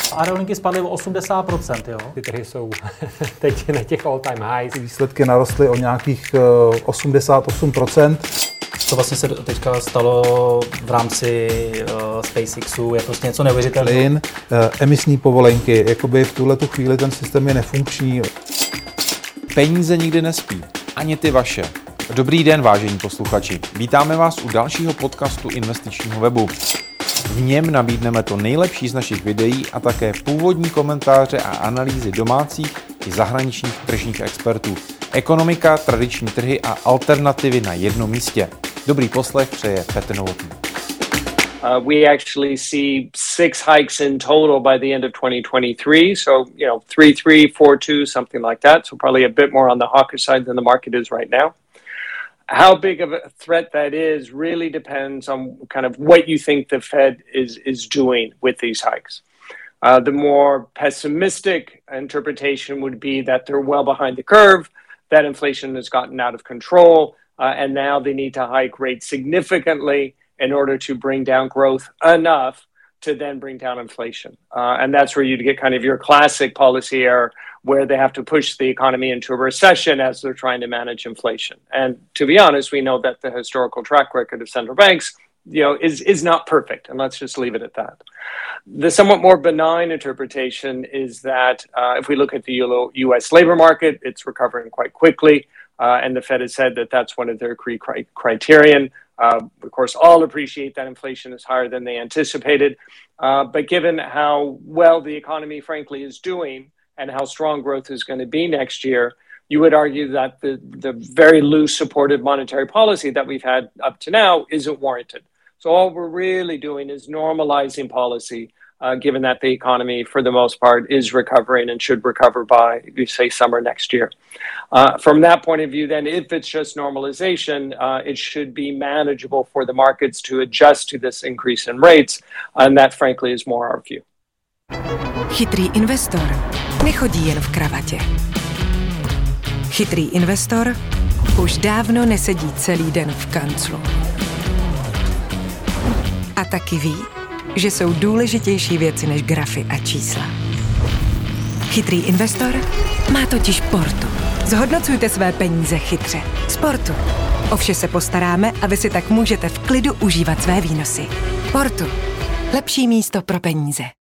Aerolinky spadly o 80%, jo. Ty trhy jsou teď na těch all-time highs. Výsledky narostly o nějakých 88%. Co vlastně se teďka stalo v rámci SpaceXu, je prostě něco neuvěřitelného. Plyn, emisní povolenky, jakoby v tuhletu chvíli ten systém je nefunkční. Peníze nikdy nespí, ani ty vaše. Dobrý den, vážení posluchači. Vítáme vás u dalšího podcastu investičního webu. V něm nabídneme to nejlepší z našich videí a také původní komentáře a analýzy domácích i zahraničních tržních expertů. Ekonomika, tradiční trhy a alternativy na jednom místě. Dobrý poslech přeje Petr Novotný. We actually see 6 hikes in total by the end of 2023. So, 3.3, 4.2, something like that. So probably a bit more on the hawkish side than the market is right now. How big of a threat that is really depends on kind of what you think the Fed is doing with these hikes. The more pessimistic interpretation would be that they're well behind the curve, that inflation has gotten out of control, and now they need to hike rates significantly in order to bring down growth enough to then bring down inflation. And that's where you'd get kind of your classic policy error where they have to push the economy into a recession as they're trying to manage inflation. And to be honest, we know that the historical track record of central banks, is not perfect. And let's just leave it at that. The somewhat more benign interpretation is that if we look at the U.S. labor market, it's recovering quite quickly. And the Fed has said that that's one of their criterion. Of course, all appreciate that inflation is higher than they anticipated. But given how well the economy, frankly, is doing and how strong growth is going to be next year, you would argue that the very loose supportive monetary policy that we've had up to now isn't warranted. So all we're really doing is normalizing policy, given that the economy, for the most part, is recovering and should recover by, say, summer next year. From that point of view, then, if it's just normalization, it should be manageable for the markets to adjust to this increase in rates, and that, frankly, is more our view. Chytrý investor nechodí jen v kravatě. Chytrý investor už dávno nesedí celý den v kanclu. A taky ví, že jsou důležitější věci než grafy a čísla. Chytrý investor má totiž Portu. Zhodnocujte své peníze chytře. S Portu. O vše se postaráme a vy si tak můžete v klidu užívat své výnosy. Portu. Lepší místo pro peníze.